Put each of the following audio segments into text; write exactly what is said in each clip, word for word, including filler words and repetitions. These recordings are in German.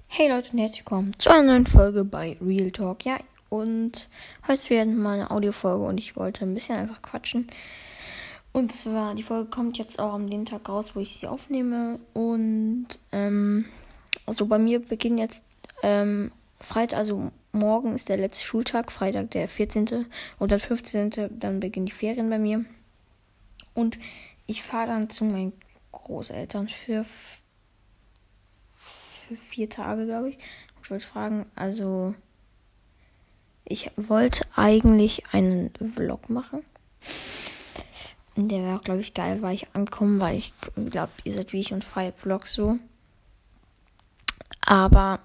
Hey Leute und herzlich willkommen zu einer neuen Folge bei Real Talk. Ja, und heute wird mal eine Audiofolge und ich wollte ein bisschen einfach quatschen. Und zwar, die Folge kommt jetzt auch am den Tag raus, wo ich sie aufnehme. Und, ähm, also bei mir beginnt jetzt, ähm, Freitag, also morgen ist der letzte Schultag, Freitag der vierzehnte oder fünfzehnte Dann beginnen die Ferien bei mir. Und ich fahre dann zu meinen Großeltern für für vier Tage, glaube ich. Ich wollte fragen, also ich wollte eigentlich einen Vlog machen. Der wäre auch, glaube ich, geil, weil ich ankomme, weil ich glaube, ihr seid wie ich und feiert Vlogs so. Aber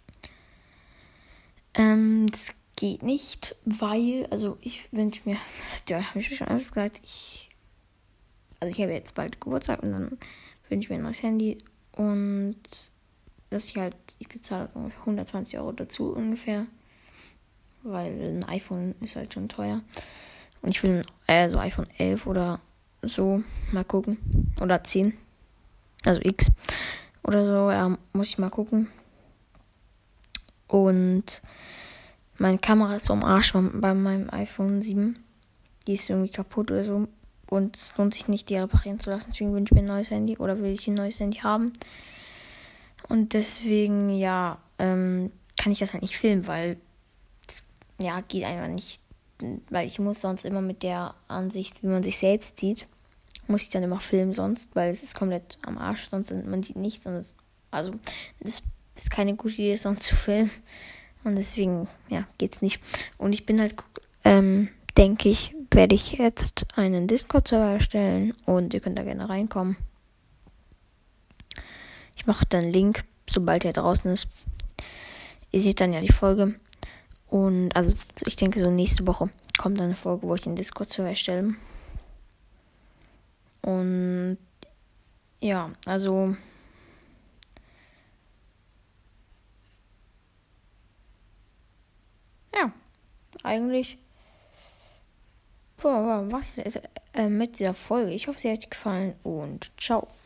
ähm, das geht nicht, weil, also ich wünsche mir, das habe ich schon alles gesagt, ich, also ich habe jetzt bald Geburtstag und dann wünsche ich mir ein neues Handy und dass ich halt, ich bezahle ungefähr hundertzwanzig Euro dazu ungefähr, weil ein iPhone ist halt schon teuer. Und ich will äh, so iPhone elf oder so, mal gucken. Oder zehn, also X oder so, ja, muss ich mal gucken. Und meine Kamera ist so am Arsch bei meinem iPhone sieben. Die ist irgendwie kaputt oder so. Und es lohnt sich nicht, die reparieren zu lassen. Deswegen wünsche ich mir ein neues Handy oder will ich ein neues Handy haben. Und deswegen, ja, ähm, kann ich das halt nicht filmen, weil das, ja, geht einfach nicht. Weil ich muss sonst immer mit der Ansicht, wie man sich selbst sieht, muss ich dann immer filmen sonst, weil es ist komplett am Arsch, sonst man sieht nichts. Und es, also, es ist keine gute Idee, sonst zu filmen. Und deswegen, ja, geht's nicht. Und ich bin halt, ähm, denke ich, werde ich jetzt einen Discord-Server erstellen und ihr könnt da gerne reinkommen. Ich mache dann einen Link, sobald er draußen ist. Ihr seht dann ja die Folge. Und also ich denke, so nächste Woche kommt dann eine Folge, wo ich den Discord-Server erstelle. Und ja, also ja, eigentlich boah, was ist äh, mit dieser Folge. Ich hoffe, sie hat euch gefallen und ciao.